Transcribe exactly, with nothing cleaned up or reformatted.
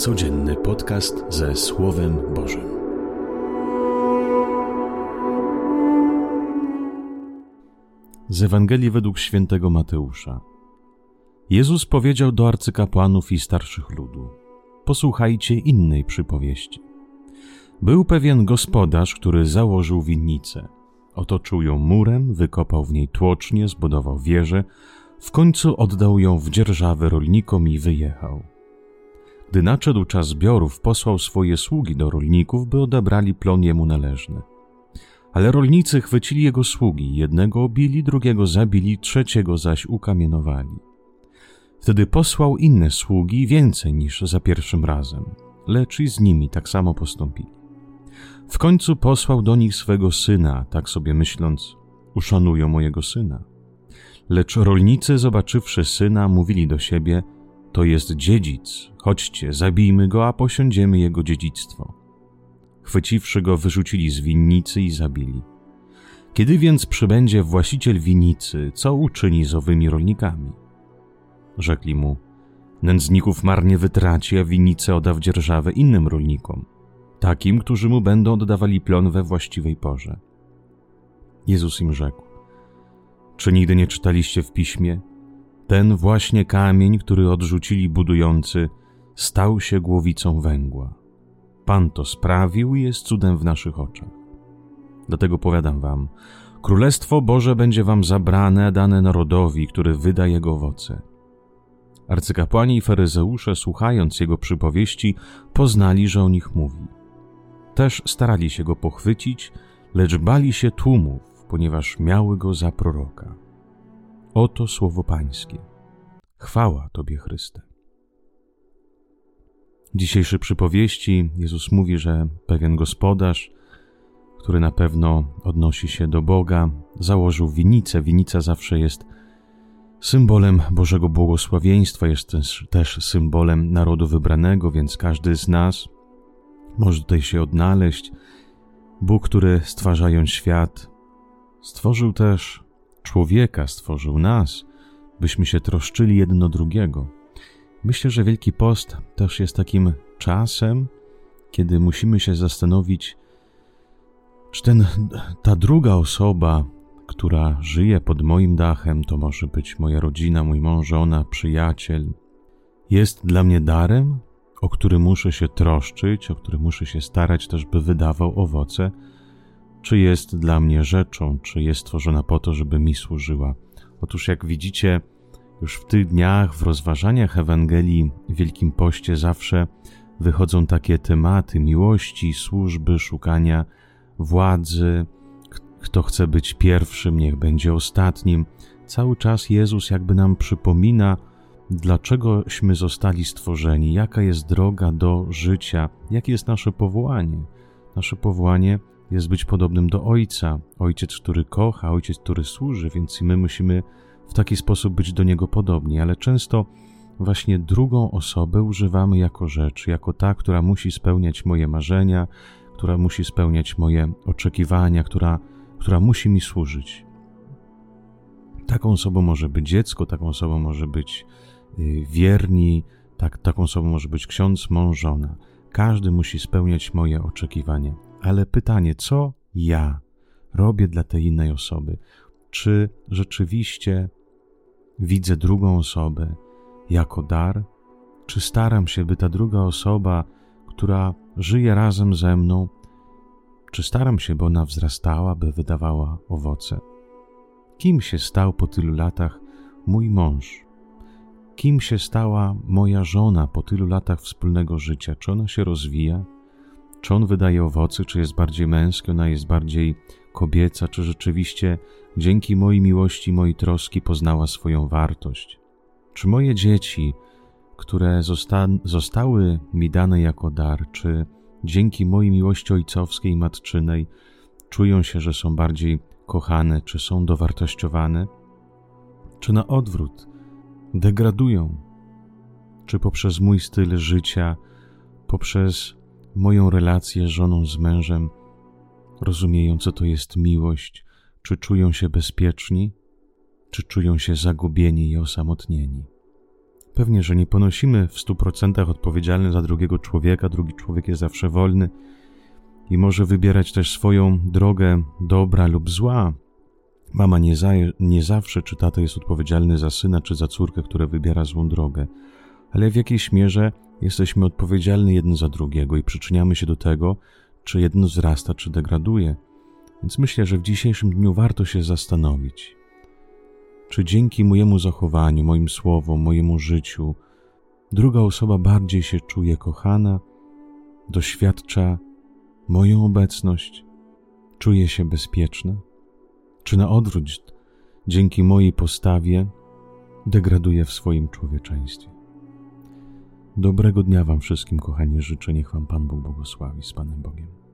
Codzienny podcast ze Słowem Bożym. Z Ewangelii według świętego Mateusza. Jezus powiedział do arcykapłanów i starszych ludu: posłuchajcie innej przypowieści. Był pewien gospodarz, który założył winnicę. Otoczył ją murem, wykopał w niej tłocznię, zbudował wieżę, w końcu oddał ją w dzierżawę rolnikom i wyjechał. Gdy nadszedł czas zbiorów, posłał swoje sługi do rolników, by odebrali plon jemu należny. Ale rolnicy chwycili jego sługi, jednego obili, drugiego zabili, trzeciego zaś ukamienowali. Wtedy posłał inne sługi, więcej niż za pierwszym razem, lecz i z nimi tak samo postąpili. W końcu posłał do nich swego syna, tak sobie myśląc: uszanują mojego syna. Lecz rolnicy, zobaczywszy syna, mówili do siebie: to jest dziedzic, chodźcie, zabijmy go, a posiądziemy jego dziedzictwo. Chwyciwszy go, wyrzucili z winnicy i zabili. Kiedy więc przybędzie właściciel winnicy, co uczyni z owymi rolnikami? Rzekli mu: nędzników marnie wytraci, a winnicę odda w dzierżawę innym rolnikom, takim, którzy mu będą oddawali plon we właściwej porze. Jezus im rzekł: czy nigdy nie czytaliście w Piśmie? Ten właśnie kamień, który odrzucili budujący, stał się głowicą węgła. Pan to sprawił i jest cudem w naszych oczach. Dlatego powiadam wam, Królestwo Boże będzie wam zabrane, a dane narodowi, który wyda jego owoce. Arcykapłani i faryzeusze, słuchając jego przypowieści, poznali, że o nich mówi. Też starali się go pochwycić, lecz bali się tłumów, ponieważ miały go za proroka. Oto słowo Pańskie. Chwała Tobie, Chryste. W dzisiejszej przypowieści Jezus mówi, że pewien gospodarz, który na pewno odnosi się do Boga, założył winnicę. Winnica zawsze jest symbolem Bożego błogosławieństwa, jest też, też symbolem narodu wybranego, więc każdy z nas może tutaj się odnaleźć. Bóg, który stwarzając świat, stworzył też człowieka, stworzył nas, byśmy się troszczyli jeden o drugiego. Myślę, że Wielki Post też jest takim czasem, kiedy musimy się zastanowić, czy ten, ta druga osoba, która żyje pod moim dachem, to może być moja rodzina, mój mąż, żona, przyjaciel, jest dla mnie darem, o który muszę się troszczyć, o który muszę się starać też, by wydawał owoce, czy jest dla mnie rzeczą, czy jest stworzona po to, żeby mi służyła. Otóż jak widzicie, już w tych dniach, w rozważaniach Ewangelii w Wielkim Poście zawsze wychodzą takie tematy miłości, służby, szukania władzy. Kto chce być pierwszym, niech będzie ostatnim. Cały czas Jezus jakby nam przypomina, dlaczegośmy zostali stworzeni, jaka jest droga do życia, jakie jest nasze powołanie. Nasze powołanie jest być podobnym do Ojca. Ojciec, który kocha, Ojciec, który służy, więc i my musimy w taki sposób być do Niego podobni, ale często właśnie drugą osobę używamy jako rzecz, jako ta, która musi spełniać moje marzenia, która musi spełniać moje oczekiwania, która, która musi mi służyć. Taką osobą może być dziecko, taką osobą może być yy, wierni, tak, taką osobą może być ksiądz, mąż, żona. Każdy musi spełniać moje oczekiwania. Ale pytanie, co ja robię dla tej innej osoby? Czy rzeczywiście widzę drugą osobę jako dar? Czy staram się, by ta druga osoba, która żyje razem ze mną, czy staram się, by ona wzrastała, by wydawała owoce? Kim się stał po tylu latach mój mąż? Kim się stała moja żona po tylu latach wspólnego życia? Czy ona się rozwija? Czy on wydaje owoce? Czy jest bardziej męski? Ona jest bardziej kobieca? Czy rzeczywiście dzięki mojej miłości, mojej troski poznała swoją wartość? Czy moje dzieci, które zosta- zostały mi dane jako dar, czy dzięki mojej miłości ojcowskiej i matczynej czują się, że są bardziej kochane, czy są dowartościowane? Czy na odwrót degradują? Czy poprzez mój styl życia, poprzez moją relację z żoną, z mężem rozumieją, co to jest miłość? Czy czują się bezpieczni? Czy czują się zagubieni i osamotnieni? Pewnie, że nie ponosimy w stu procentach odpowiedzialności za drugiego człowieka, drugi człowiek jest zawsze wolny i może wybierać też swoją drogę dobra lub zła. Mama nie, za, nie zawsze, czy tata jest odpowiedzialny za syna, czy za córkę, która wybiera złą drogę, ale w jakiejś mierze jesteśmy odpowiedzialni jeden za drugiego i przyczyniamy się do tego, czy jedno wzrasta, czy degraduje. Więc myślę, że w dzisiejszym dniu warto się zastanowić, czy dzięki mojemu zachowaniu, moim słowom, mojemu życiu druga osoba bardziej się czuje kochana, doświadcza moją obecność, czuje się bezpieczna, czy na odwrót dzięki mojej postawie degraduje w swoim człowieczeństwie. Dobrego dnia wam wszystkim, kochani, życzę, niech wam Pan Bóg błogosławi. Z Panem Bogiem.